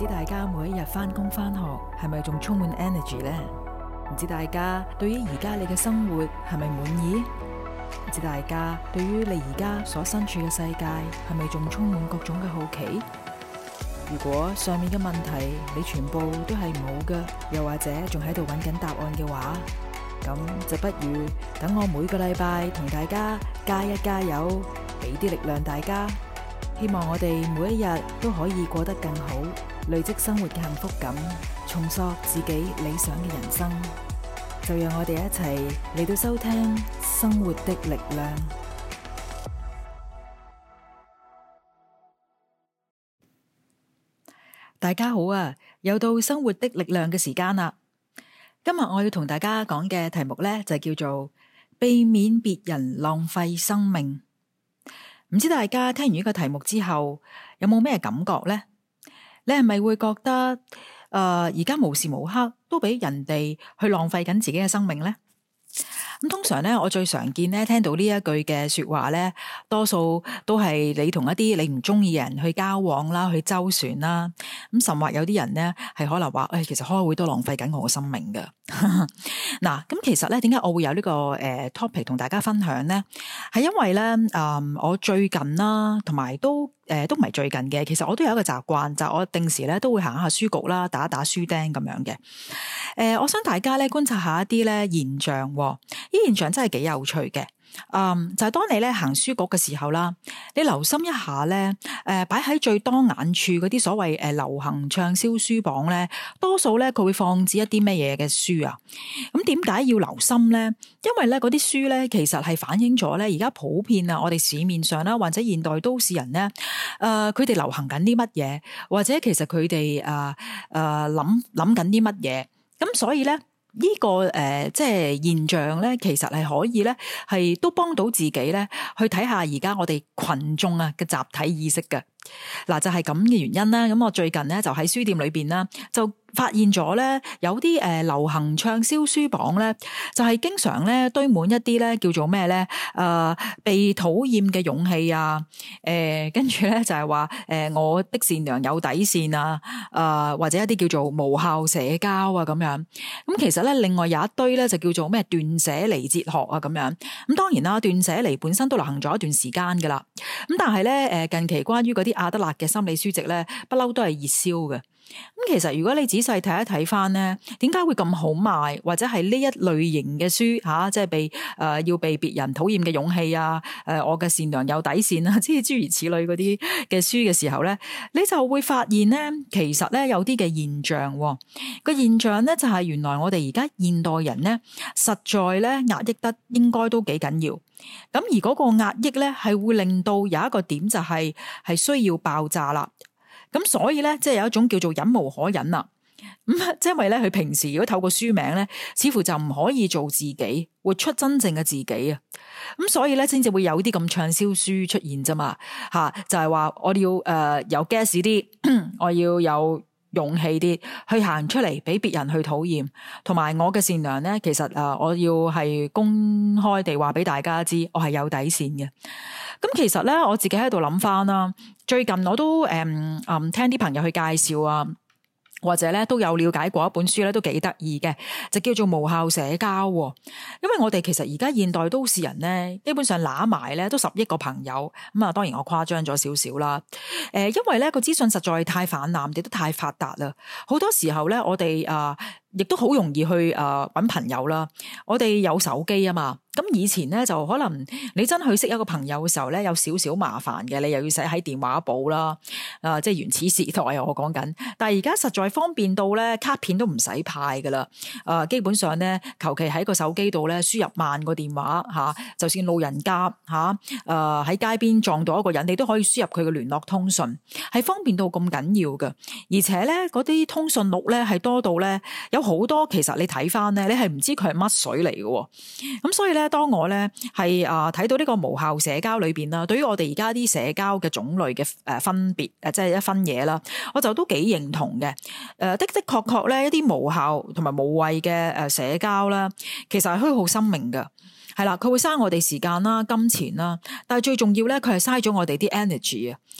知大家每一日返工返學係咪仲充滿 energy 呢？唔知大家對於而家你嘅生活係咪滿意？唔知大家對於你而家所身處嘅世界係咪仲充滿各種嘅好奇？如果上面嘅問題你全部都係冇嘅，又或者仲喺度揾緊答案嘅話，咁就不如等我每個禮拜同大家加油，俾啲力量大家。希望我哋每一日都可以過得更好，累積生活嘅幸福感，重塑自己理想嘅人生。就讓我哋一齊嚟到收聽生活的力量。大家好啊，又到生活的力量嘅時間啦。今日我要同大家講嘅題目呢，就叫做避免別人浪費生命。唔知大家聽完呢個題目之後有冇咩感覺呢？你係咪會覺得而家無時無刻都俾人哋去浪費緊自己嘅生命呢？咁通常咧，我最常見咧聽到呢一句嘅說話咧，多數都係你同一啲你唔中意嘅人去交往啦，去周旋啦。咁甚或有啲人咧係可能話，其實開會都浪費緊我嘅生命噶。嗱，咁其實咧，點解我會有呢個topic 同大家分享咧？係因為咧，我最近啦，同埋都唔係最近嘅，其實我都有一個習慣，就係我定時咧都會行下書局啦，打書釘咁樣嘅。我想大家咧觀察下一啲咧現象，呢現象真係幾有趣嘅。就係當你咧行書局嘅時候啦，你留心一下咧，擺喺最多眼處嗰啲所謂流行暢銷書榜咧，多數咧佢會放置一啲咩嘢嘅書啊？咁點解要留心咧？因為咧嗰啲書咧，其實係反映咗咧而家普遍啊，我哋市面上啦，或者現代都市人咧，佢哋流行緊啲乜嘢，或者其實佢哋諗緊啲乜嘢，咁所以咧。呢個即係現象咧，其實係可以咧，係都幫到自己咧，去睇下而家我哋群眾啊嘅集體意識嘅。嗱，就係咁嘅原因啦。咁我最近咧就喺書店裏邊啦，就發現咗咧有啲流行暢銷書榜咧，就係經常咧堆滿一啲咧叫做咩咧被討厭嘅勇氣啊，跟住咧就係話我的善良有底線啊，或者一啲叫做無效社交啊咁樣。咁其實咧另外有一堆咧就叫做咩斷捨離哲學啊咁樣。咁當然啦，斷捨離本身都流行咗一段時間噶啦。咁但係咧近期關於嗰啲阿德勒嘅心理書籍咧，不嬲都係熱銷嘅。咁其實如果你仔細睇一睇翻咧，點解會咁好賣，或者係呢一類型嘅書即係要被別人討厭嘅勇氣啊，我嘅善良有底線啊，即係諸如此類嗰啲嘅書嘅時候咧，你就會發現咧，其實咧有啲嘅現象，個現象咧就係原來我哋而家現代人咧，實在咧壓抑得應該都幾緊要。咁而嗰個壓抑咧係會令到有一個點就係需要爆炸啦。咁所以咧，即係有一種叫做忍無可忍啦。咁即係因為咧，佢平時如果透過書名咧，似乎就唔可以做自己，活出真正嘅自己啊。咁所以咧，先至會有啲咁暢銷書出現啫嘛。就係話我要有 gas 啲，我要有勇氣啲去行出嚟，俾別人去討厭，同埋我嘅善良咧，其實我要係公開地話俾大家知，我係有底線嘅。咁其實咧，我自己喺度諗翻啦，最近我都聽啲朋友去介紹啊，或者咧都有了解過一本書咧，都幾得意嘅，就叫做無效社交。因為我哋其實而家現代都市人咧，基本上揦埋咧都10億個朋友，咁啊當然我誇張咗少少啦。因為咧個資訊實在太泛濫，亦都太發達啦，好多時候咧我哋亦都好容易去揾朋友啦。我哋有手機啊嘛。咁以前咧就可能你真去識一個朋友嘅時候咧，有少少麻煩嘅，你又要寫喺電話簿啦，即係原始時代啊，我講緊。但係而家實在方便到咧，卡片都唔使派噶啦，基本上咧求其喺個手機度咧輸入萬個電話就算路人甲喺街邊撞到一個人，你都可以輸入佢嘅聯絡通訊，係方便到咁緊要嘅。而且咧嗰啲通訊錄咧係多到咧有好多，其實你睇翻咧，你係唔知佢係乜水嚟嘅。咁所以咧。當我咧係睇到呢個無效社交裏邊啦，對於我哋而家啲社交嘅種類嘅分別即係一分嘢啦，我就都幾認同嘅。的確咧一啲無效同埋無謂嘅社交啦，其實係虛耗生命㗎。係啦，佢會嘥我哋時間啦、金錢啦，但係最重要咧，佢係嘥咗我哋啲 energy 啊。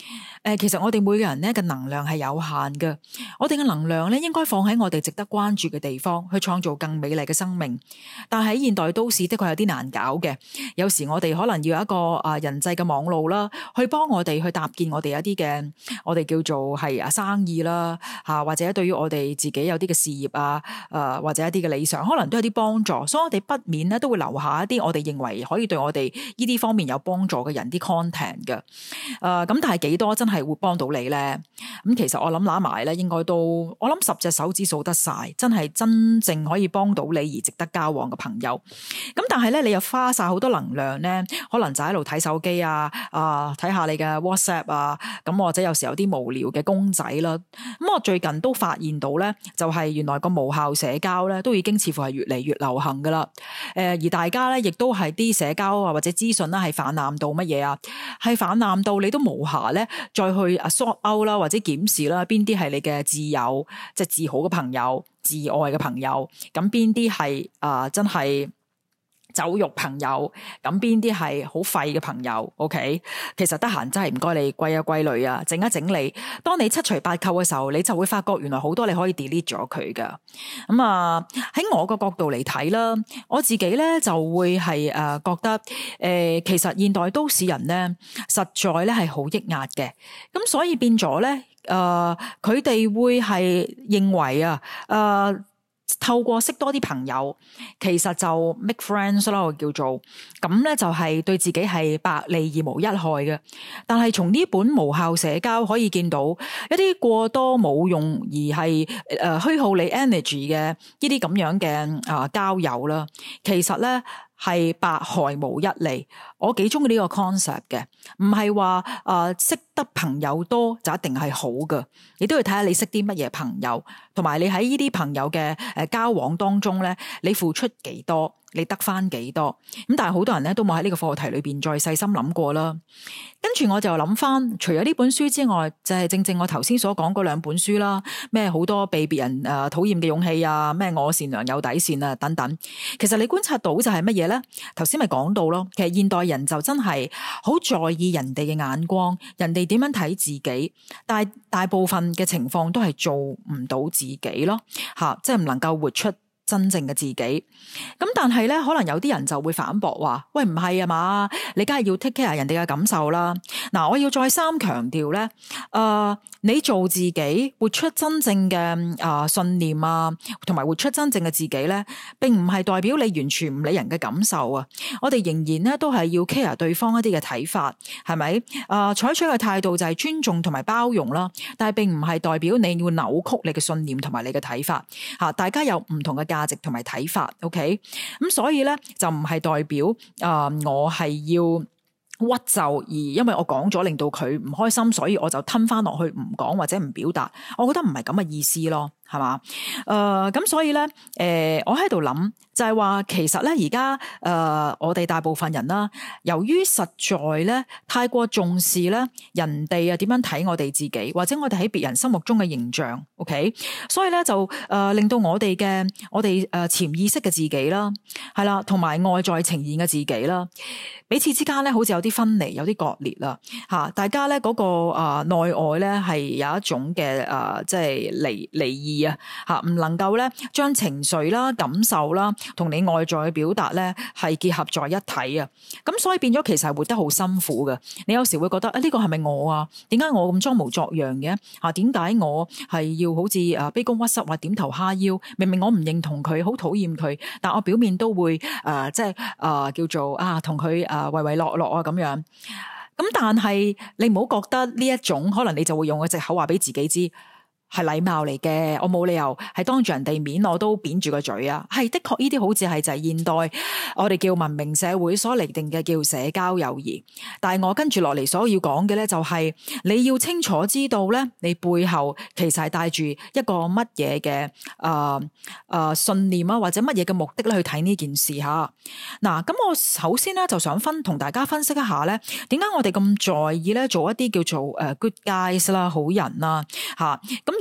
其實我哋每個人咧嘅能量係有限嘅，我哋嘅能量咧應該放喺我哋值得關注嘅地方，去創造更美麗嘅生命。但係喺現代都市的確有啲難搞嘅，有時我哋可能要有一個人際嘅網路啦，去幫我哋去搭建我哋一啲嘅我哋叫做係生意啦或者對於我哋自己有啲嘅事業或者一啲嘅理想，可能都有啲幫助，所以我哋不免咧都會留下一啲我哋認為可以對我哋呢啲方面有幫助嘅人啲 content 嘅。咁但係幾多真係會幫到你咧？咁其實我諗揦埋咧，應該都我諗10隻手指數得晒，真係真正可以幫到你而值得交往嘅朋友。咁但係咧，你又花晒好多能量咧，可能就喺度睇手機睇下你嘅 WhatsApp 咁或者有時有啲無聊嘅公仔啦。咁我最近都發現到咧，就係原來個無效社交咧，都已經似乎係越嚟越流行噶啦。而大家咧，亦都係啲社交或者資訊啦，係泛濫到乜嘢係泛濫到你都無暇咧，再去sort out啦，或者檢視啦，邊啲係你嘅摯友，即係至好嘅朋友、至愛嘅朋友，咁邊啲係真係酒肉朋友，咁邊啲係好廢嘅朋友 ？OK， 其實得閒真係唔該你歸一歸類整一整理。當你七除八扣嘅時候，你就會發覺原來好多你可以 delete 咗佢噶。咁喺我個角度嚟睇啦，我自己咧就會係覺得其實現代都市人咧實在咧係好抑壓嘅，咁所以變咗咧佢哋會係認為透過識多啲朋友，其實就 make friends 啦，我叫做咁咧，就係對自己係百利而無一害嘅。但係從呢本無效社交可以見到一啲過多冇用而係虛耗你 energy 嘅呢啲咁樣嘅交友啦，其實咧係百害無一利。我幾中意呢個 concept 嘅，唔係話識得朋友多就一定係好㗎，你都要睇下你識啲乜嘢朋友，同埋你喺呢啲朋友嘅交往當中咧，你付出幾多，你得翻幾多。咁但係好多人咧都冇喺呢個課題裏邊再細心諗過啦。跟住我就諗翻，除咗呢本書之外，就係正我頭先所講嗰2本書啦，咩好多被別人討厭嘅勇氣咩我善良有底線等等。其實你觀察到就係乜嘢咧？頭先咪講到咯，其實現代人就真係好在意人哋嘅眼光，人哋點樣睇自己，但係大部分嘅情況都係做唔到自己咯，即係唔能夠活出真正嘅自己。咁但係咧，可能有啲人就會反駁話，喂，唔係啊嘛，你梗係要 take care 人哋嘅感受啦。嗱，我要再三強調咧，你做自己，活出真正嘅信念同埋活出真正嘅自己咧，並唔係代表你完全唔理人嘅感受啊。我哋仍然咧都係要 care 對方一啲嘅睇法，係咪？採取嘅態度就係尊重同埋包容啦，但係並唔係代表你要扭曲你嘅信念同埋你嘅睇法。大家有唔同嘅價值同埋睇法 ，OK？ 咁所以咧就唔係代表我係要屈就，而因為我講咗令到佢唔開心，所以我就吞翻落去唔講或者唔表達。我覺得唔係咁嘅意思咯，係嘛？咁所以咧，我喺度諗就係話，其實咧而家我哋大部分人啦，由於實在咧太過重視咧人哋點樣睇我哋自己，或者我哋喺別人心目中嘅形象 ，OK？ 所以咧就令到我哋潛意識嘅自己啦，係啦，同埋外在呈現嘅自己啦，彼此之間咧好似有啲分離，有啲割裂啦，大家咧嗰個內外咧係有一種嘅即係離異唔能夠咧將情緒啦、感受啦同你外在嘅表達咧係結合在一體啊！咁所以變咗其實係活得好辛苦嘅。你有時會覺得呢個係咪我啊？點解我咁裝模作樣嘅？點解我係要好似卑躬屈膝或點頭哈腰？明明我唔認同佢，好討厭佢，但我表面都會即係叫做同佢唯唯諾諾咁樣。咁但係你唔好覺得呢一種可能你就會用個藉口話俾自己知。係禮貌嚟嘅，我冇理由係當住人哋面我都扁住個嘴啊！係的確呢啲好似係就係現代我哋叫文明社會所釐定嘅叫社交友誼。但係我跟住落嚟所要講嘅咧，就係你要清楚知道咧，你背後其實係帶住一個乜嘢嘅信念啊，或者乜嘢嘅目的咧去睇呢件事吓。嗱，咁我首先咧就想同大家分析一下咧，點解我哋咁在意咧做一啲叫做good guys 啦，好人啦吓。咁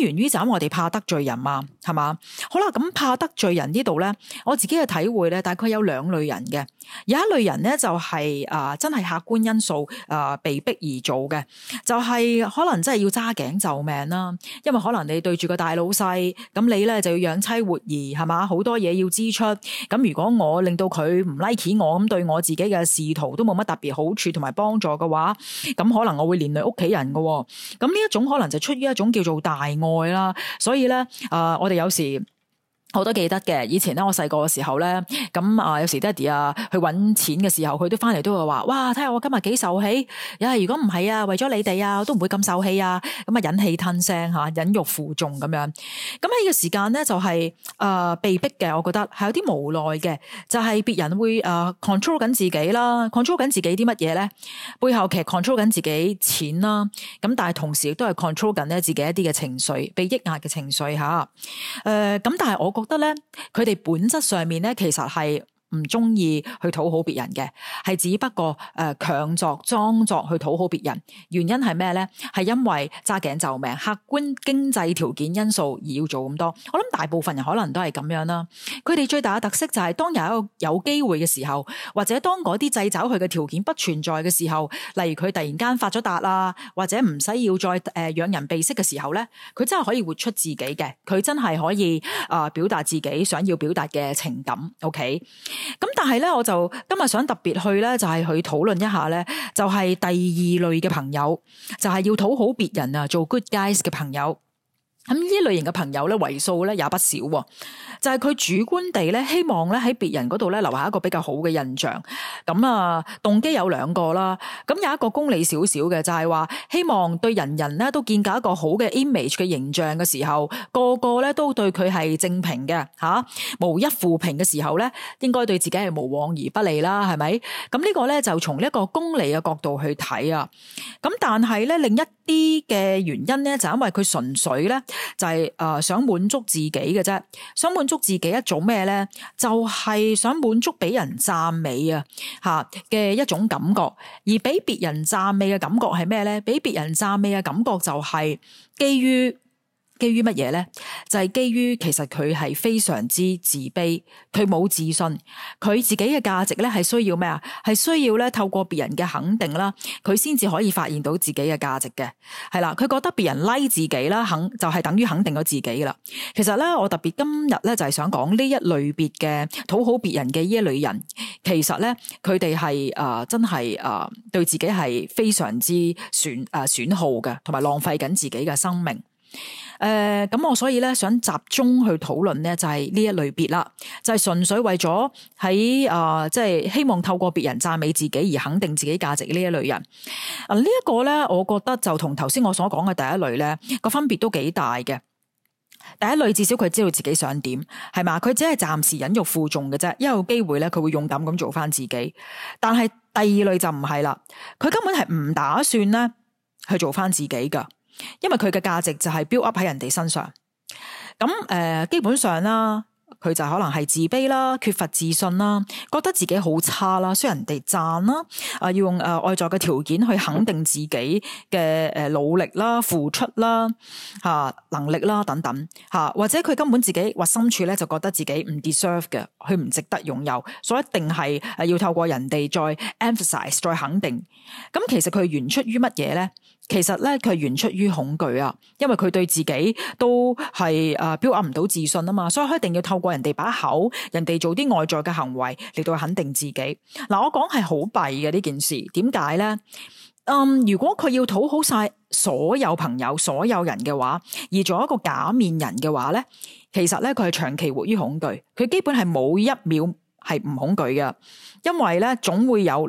源於就我哋怕得罪人嘛，係嘛？好啦，咁怕得罪人呢度咧，我自己嘅體會咧，大概有兩類人嘅。有一類人咧就係真係客觀因素被逼而做嘅，就係可能真係要揸頸就命啦。因為可能你對住個大老細，咁你咧就要養妻活兒，係嘛？好多嘢要支出。咁如果我令到佢唔 like 我，咁對我自己嘅仕途都冇乜特別好處同埋幫助嘅話，咁可能我會連累屋企人嘅。咁呢一種可能就出於一種叫做大愛啦。所以咧我哋有時我都記得嘅，以前咧我細個嘅時候咧，咁有時爹哋去搵錢嘅時候，佢都翻嚟都會話：哇，睇下我今日幾受氣！如果唔係啊，為咗你哋啊，我都唔會咁受氣啊！咁忍氣吞聲吓，忍辱負重咁樣。咁喺呢個時間咧，就係被逼嘅，我覺得係有啲無奈嘅，就係別人會control 緊自己啦，control 緊自己啲乜嘢咧？背後其實 control 緊自己錢啦，咁但係同時亦都係 control 緊咧自己一啲嘅情緒，被抑壓嘅情緒吓。咁但係我覺得咧，佢哋本質上面咧，其實係唔中意去討好別人嘅，係只不過強作裝作去討好別人。原因係咩咧？係因為揸頸就命，客觀經濟條件因素而要做咁多。我諗大部分人可能都係咁樣啦。佢哋最大嘅特色就係當有一個有機會嘅時候，或者當嗰啲掣肘佢嘅條件不存在嘅時候，例如佢突然間發咗達啦，或者唔使要再養人鼻息嘅時候咧，佢真係可以活出自己嘅，佢真係可以表達自己想要表達嘅情感。OK。咁但係咧，我就今日想特別去咧，就係去討論一下咧，就係第二類嘅朋友，就係要討好別人啊，做 good guys 嘅朋友。咁呢類型嘅朋友咧，為數咧也不少，就係佢主觀地咧，希望咧喺別人嗰度咧留下一個比較好嘅印象。咁動機有兩個啦。咁有一個功利少少嘅，就係話希望對人人咧都建構一個好嘅 image 嘅形象嘅時候，個個咧都對佢係正評嘅吓，無一負評嘅時候咧，應該對自己係無往而不利啦，係咪？咁呢個咧就從呢一個功利嘅角度去睇啊。咁但係咧另一啲嘅原因咧，就因為佢純粹咧就係想滿足自己嘅啫，想滿足自己一種咩咧？就係想滿足俾人讚美啊吓嘅一種感覺，而俾別人讚美嘅感覺係咩咧？俾別人讚美嘅感覺就係基於乜嘢咧？就係基於其實佢係非常之自卑，佢冇自信，佢自己嘅價值咧係需要咩啊？係需要咧透過別人嘅肯定啦，佢先至可以發現到自己嘅價值嘅。係啦，佢覺得別人 like 自己啦，就係等於肯定咗自己噶啦。其實咧，我特別今日咧就係想講呢一類別嘅討好別人嘅呢一類人，其實咧佢哋係真係對自己係非常之損耗嘅，同埋浪費緊自己嘅生命。咁我所以咧想集中去討論咧就係呢一類別啦，就係純粹為咗喺即係希望透過別人讚美自己而肯定自己價值呢一類人。呢一個咧，我覺得就同頭先我所講嘅第一類咧個分別都幾大嘅。第一類至少佢知道自己想點，係嘛？佢只係暫時忍辱負重嘅啫，一有機會咧佢會勇敢咁做翻自己。但係第二類就唔係啦，佢根本係唔打算咧去做翻自己噶。因為佢嘅價值就係 build up 喺人哋身上，咁基本上啦，佢就可能係自卑啦，缺乏自信啦，覺得自己好差啦，需要人哋讚啦，要用外在嘅條件去肯定自己嘅努力啦、付出啦、能力啦等等或者佢根本自己核心處咧就覺得自己唔 deserve 嘅，佢唔值得擁有，所以一定係要透過人哋再 emphasize 再肯定。咁其實佢源出於乜嘢咧？其實咧，佢係源出於恐懼啊，因為佢對自己都係build up唔到自信啊嘛，所以佢一定要透過人哋把口，人哋做啲外在嘅行為嚟到肯定自己。嗱，我講係好弊嘅呢件事，點解咧？如果佢要討好晒所有朋友、所有人嘅話，而做一個假面人嘅話咧，其實咧佢係長期活於恐懼，佢基本係冇一秒係唔恐懼嘅，因為咧總會有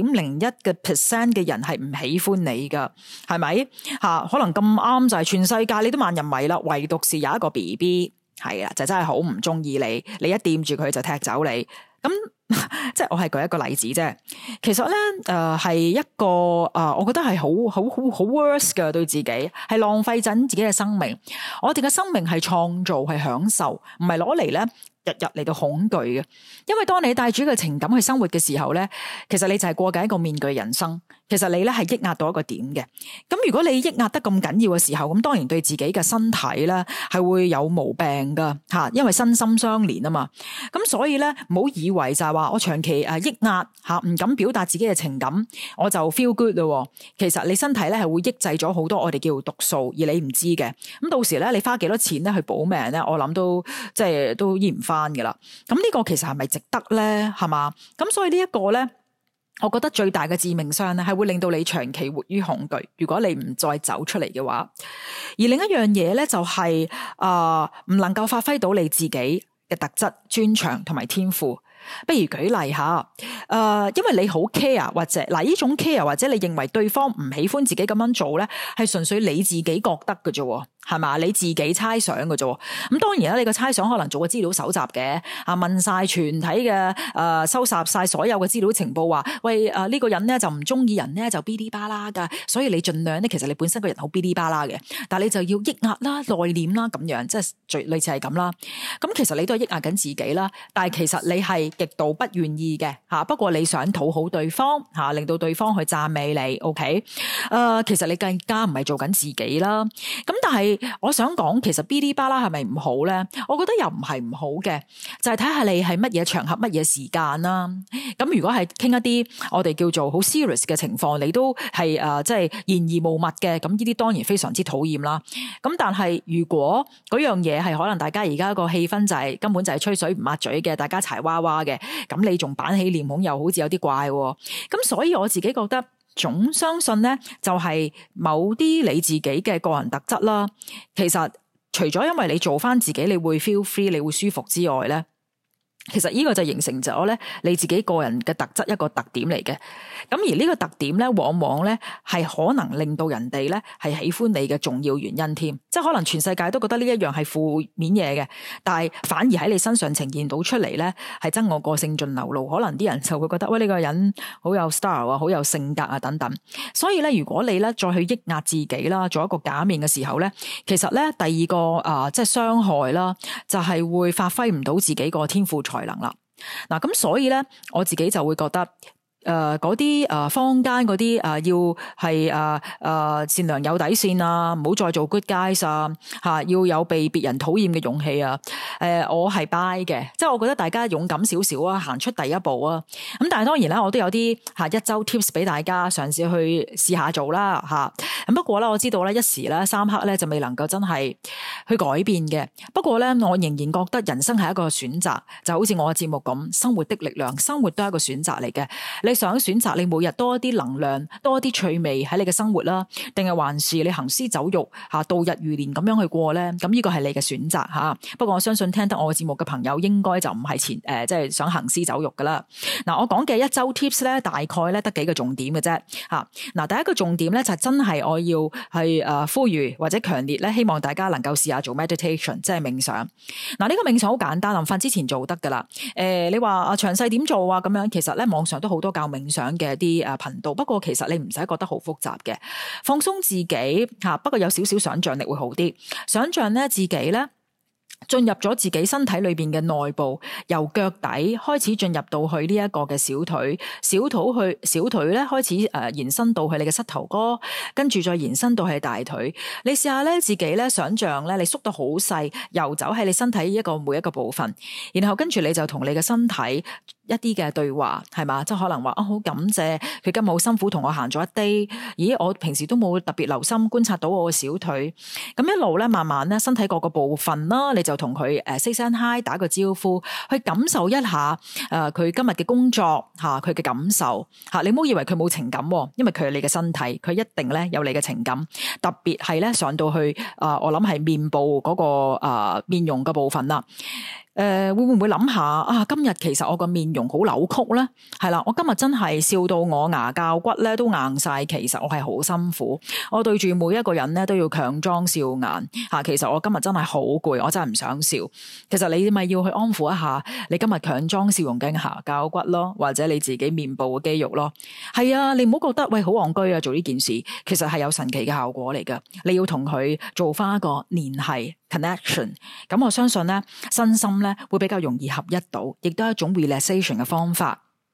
0.01% 嘅人係唔喜歡你噶，係咪？可能咁啱就係全世界你都萬人迷啦，唯獨是有一個 BB 係啊，就真係好唔中意你，你一掂住佢就踢走你。咁即係我係舉一個例子啫。其實咧係一個我覺得係好 worse 嘅，對自己係浪費緊自己嘅生命。我哋嘅生命係創造係享受，唔係攞嚟咧日日嚟到恐懼嘅。因為當你帶住一個情感去生活嘅時候咧，其實你就係過緊一個面具人生。 其實你咧係抑壓到一個點嘅。咁如果你抑壓得咁緊要嘅時候，咁當然對自己嘅身體咧係會有毛病噶吓，因為身心相連啊嘛。咁所以咧唔好以為就係話我長期抑壓吓，唔敢表達自己嘅情感，我就 feel good 咯。其實你身體咧係會抑制咗好多我哋叫毒素，而你唔知嘅。咁到時咧你花幾多錢咧去保命咧，我諗都即係都醫唔翻噶啦。咁呢個其實係咪值得咧？係嘛？咁所以呢一個咧。我覺得最大嘅致命傷咧，係會令到你長期活於恐懼。如果你唔再走出嚟嘅話，而另一樣嘢咧就係唔能夠發揮到你自己嘅特質、專長同埋天賦。不如舉例下，因為你好 care 或者呢種 care 或者你認為對方唔喜歡自己咁樣做咧，係純粹你自己覺得嘅啫。係嘛？你自己猜想嘅啫。咁當然啦，你個猜想可能做個資料搜集嘅，問晒全體嘅收集晒所有嘅資料情報，話喂呢個人咧就唔中意人咧就嗶哩吧啦噶，所以你盡量咧，其實你本身個人好嗶哩吧啦嘅，但係你就要抑壓啦、內斂啦咁樣，即係最類似係咁啦。咁其實你都係抑壓緊自己啦，但係其實你係極度不願意嘅吓。不過你想討好對方吓，令到對方去讚美你 ，OK？其實你更加唔係做緊自己啦。咁但係我想講，其實嗶哩吧啦係咪唔好咧？我覺得又唔係唔好嘅，就係睇下你係乜嘢場合、乜嘢時間啦。咁如果係傾一啲我哋叫做好 serious 嘅情況，你都係即係言而無物嘅，咁呢啲當然非常之討厭啦。咁但係如果嗰樣嘢係可能大家而家個氣氛就係根本就係吹水唔抹嘴嘅，大家柴娃娃嘅，咁你仲板起臉孔又好似有啲怪喎。咁所以我自己覺得。總相信咧，就係某啲你自己嘅個人特質啦。其實除咗因為你做翻自己，你會 feel free，你會舒服之外咧，其實呢個就形成咗咧你自己個人嘅特質一個特點嚟嘅。咁而呢個特點咧，往往咧係可能令到人哋咧係喜歡你嘅重要原因添。即係可能全世界都覺得呢一樣係負面嘢嘅，但係反而喺你身上呈現到出嚟咧，係真我個性盡流露。可能啲人就會覺得喂，呢個人好有 style 啊，好有性格啊等等。所以咧，如果你咧再去抑壓自己啦，做一個假面嘅時候咧，其實咧第二個即係傷害啦，就係會發揮唔到自己個天賦才能啦。嗱，咁所以咧，我自己就會覺得。嗰啲坊間嗰啲要係善良有底線啊，唔好再做 good guys 啊，要有被別人討厭嘅勇氣啊。我係 buy 嘅，即係我覺得大家勇敢少少啊，行出第一步啊。咁但係當然啦，我都有啲一周 tips 俾大家嘗試去試下做啦吓。咁不過咧，我知道咧一時咧三刻咧就未能夠真係去改變嘅。不過咧，我仍然覺得人生係一個選擇，就好似我嘅節目咁，生活的力量，生活都係一個選擇嚟嘅。你想選擇你每日多一啲能量，多一啲趣味喺你嘅生活啦，定係還是你行屍走肉度日如年咁樣去過咧？咁呢個係你嘅選擇吓。不過我相信聽得我嘅節目嘅朋友應該就唔係即係想行屍走肉噶啦。嗱，我講嘅一周 tips 咧，大概咧得幾個重點嘅啫吓。嗱，第一個重點咧就真係我要係呼籲或者強烈咧，希望大家能夠試下做 meditation， 即係冥想。嗱，呢個冥想好簡單，臨瞓之前做得噶啦。你話詳細點做啊？咁樣其實咧網上都好多教冥想嘅啲頻道，不過其實你唔使覺得好複雜嘅，放鬆自己吓，不過有少少想象力會好啲。想象咧自己咧進入咗自己身體裏邊嘅內部，由腳底開始進入到去呢一個嘅小腿，小腿咧開始延伸到去你嘅膝頭哥，跟住再延伸到去大腿。你試下咧自己咧想象咧你縮到好細，游走喺你身體每一個部分，然後跟住你就同你嘅身體一啲嘅對話，係嘛？即係可能話好感謝佢今日好辛苦同我行咗一 day， 咦我平時都冇特別留心觀察到我嘅小腿，咁一路咧慢慢咧身體各個部分啦，你就同佢say 聲 hi， 打個招呼，去感受一下佢今日嘅工作佢嘅感受你唔好以為佢冇情感，因為佢係你嘅身體，佢一定咧有你嘅情感，特別係咧上到去我諗係面部嗰個面容嘅部分啦。會唔會諗下今日其實我個面容好扭曲咧？係啦，我今日真係笑到我牙骹骨咧都硬晒，其實我係好辛苦，我對住每一個人咧都要強裝笑顏其實我今日真係好攰，我真係唔想笑。其實你咪要去安撫一下你今日強裝笑容嘅牙骹骨咯，或者你自己面部嘅肌肉咯。係啊，你唔好覺得喂好戇居啊做呢件事，其實係有神奇嘅效果嚟噶。你要同佢做翻一個聯繫 connection， 咁我相信咧身心咧會比較容易合一到，亦都係一種 relaxation 嘅方法。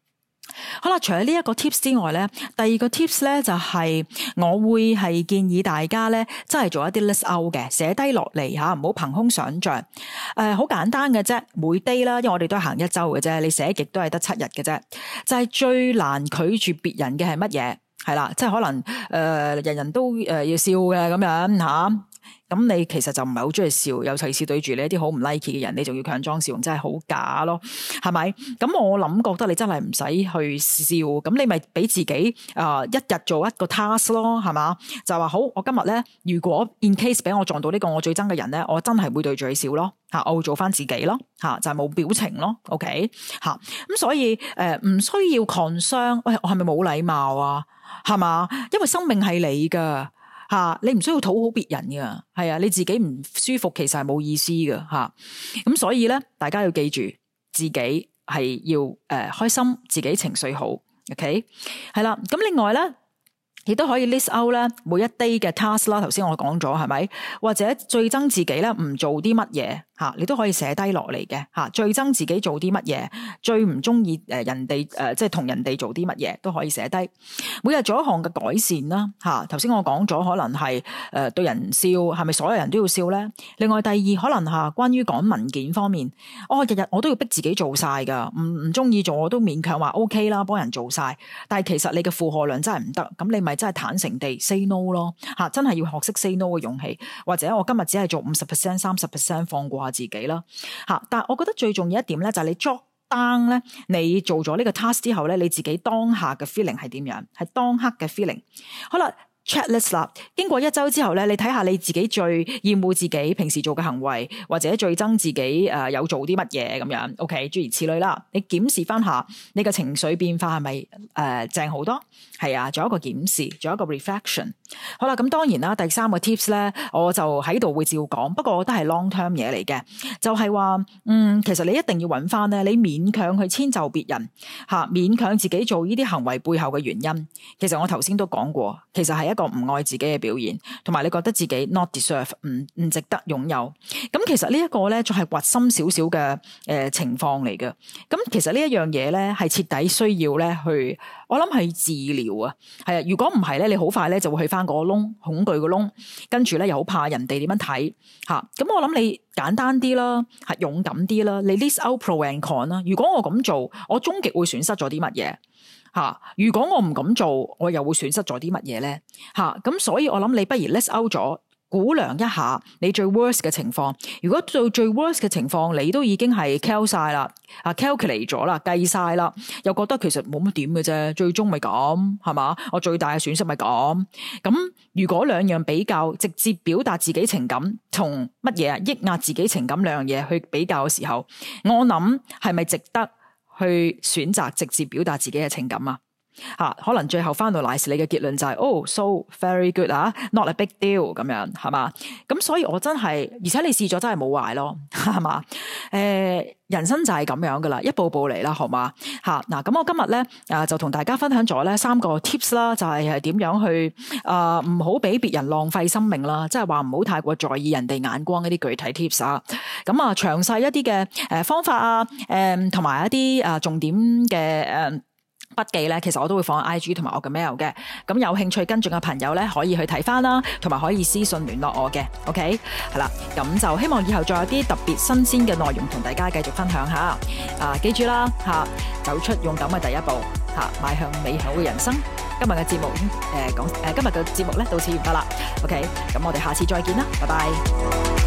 好啦，除咗呢一個 tips 之外咧，第二個 tips 咧就係我會係建議大家咧，真係做一啲 list out 嘅，寫低落嚟吓，唔好憑空想象。好簡單嘅啫，每 day 啦，因為我哋都係行一周嘅啫，你寫極都係得7日嘅啫。就係最難拒絕別人嘅係乜嘢？係啦，即係可能人人都要笑嘅咁樣吓。咁你其實就唔係好中意笑，尤其是對住你一啲好唔 like 嘅人，你仲要強裝笑容，真係好假咯，係咪？咁我諗覺得你真係唔使去笑，咁你咪俾自己一日做一個 task 咯，係嘛？就話好，我今日咧，如果 in case 俾我撞到呢個我最憎嘅人咧，我真係會對住佢笑咯，吓，我會做翻自己咯，吓，就係冇表情咯 ，OK， 吓，咁所以唔需要 concern，喂，我係咪冇禮貌啊？係嘛？因為生命係你噶。你唔需要討好別人噶，係啊，你自己唔舒服其實係冇意思噶吓，咁所以咧，大家要記住自己係要開心，自己情緒好 ，OK， 係啦，咁另外咧，亦都可以 list out 咧每一 day 嘅 task 啦，頭先我講咗係咪？或者最憎自己咧唔做啲乜嘢吓，你都可以寫低落嚟嘅吓，最憎自己做啲乜嘢，最唔中意人哋即係同人哋做啲乜嘢都可以寫低。每日做一項嘅改善啦吓，頭先我講咗可能係對人笑，係咪所有人都要笑咧？另外第二可能吓關於趕文件方面，日日我都要逼自己做晒噶，唔中意做我都勉強話 OK 啦，幫人做晒，但係其實你嘅負荷量真係唔得，咁你咪真係坦誠地 say no 咯吓，真係要學識 say no 嘅勇氣，或者我今日只係做 50%、30% 放過自己啦吓，但係我覺得最重要一點咧，就係你 jot down 咧，你做咗呢個 task 之後咧，你自己當下嘅 feeling 係點樣？係當刻嘅 feeling。好啦。checklist 啦，經過一周之後咧，你睇下你自己最厭惡自己平時做嘅行為，或者最憎自己有做啲乜嘢咁樣 ，OK， 諸如此類啦。你檢視翻下你嘅情緒變化係咪正好多？係啊，做一個檢視，做一個 reflection。好啦，咁當然啦，第三個 tips 咧，我就喺度會照講，不過我都係 long term 嘢嚟嘅，就係話，其實你一定要揾翻咧，你勉強去遷就別人吓，勉強自己做呢啲行為背後嘅原因，其實我頭先都講過，其實係一個唔愛自己嘅表現，同埋你覺得自己 not deserve， 唔值得擁有。咁其實呢一個咧，就係核心少少嘅情況嚟嘅。咁其實呢一樣嘢咧，係徹底需要咧去，我諗係治療啊。係啊，如果唔係咧，你好快咧就會去翻個窿，恐懼個窿，跟住咧又好怕人哋點樣睇吓。咁我諗你簡單啲啦，係勇敢啲啦，你 list out pro and con 啦。如果我咁做，我終極會損失咗啲乜嘢？如果我唔咁做，我又會損失咗啲乜嘢咧？咁所以我諗你不如 list out 咗，估量一下你最 worst 嘅情況。如果到最 worst 嘅情況，你都已經係 cal 晒啦，calculate 咗啦，計晒啦，又覺得其實冇乜點嘅啫，最終咪咁係嘛？我最大嘅損失咪咁。咁如果兩樣比較，直接表達自己情感同乜嘢抑壓自己情感兩樣嘢去比較嘅時候，我諗係咪值得去選擇直接表達自己嘅情感啊？可能最後翻到嚟時，你嘅結論就係so very good not a big deal 咁樣係嘛？咁所以我真係，而且你試咗真係冇壞咯，係嘛？人生就係咁樣噶啦，一步步嚟啦，好嘛？嗱，咁我今日咧就同大家分享咗咧3個 tips 啦，就係點樣去唔好俾別人浪費生命啦，即係話唔好太過在意人哋眼光一啲具體 tips 啊。咁啊，詳細一啲嘅方法啊，同埋一啲重點嘅筆記咧，其實我都會放喺 IG 同埋我嘅 mail 嘅，咁有興趣跟進嘅朋友咧，可以去睇翻啦，同埋可以私信聯絡我嘅 ，OK， 係啦，咁就希望以後再有啲特別新鮮嘅內容同大家繼續分享下，記住啦，走出勇敢嘅第一步，邁向美好嘅人生。今日嘅節目今日嘅節目咧到此完畢啦，OK，咁我哋下次再見啦，拜拜。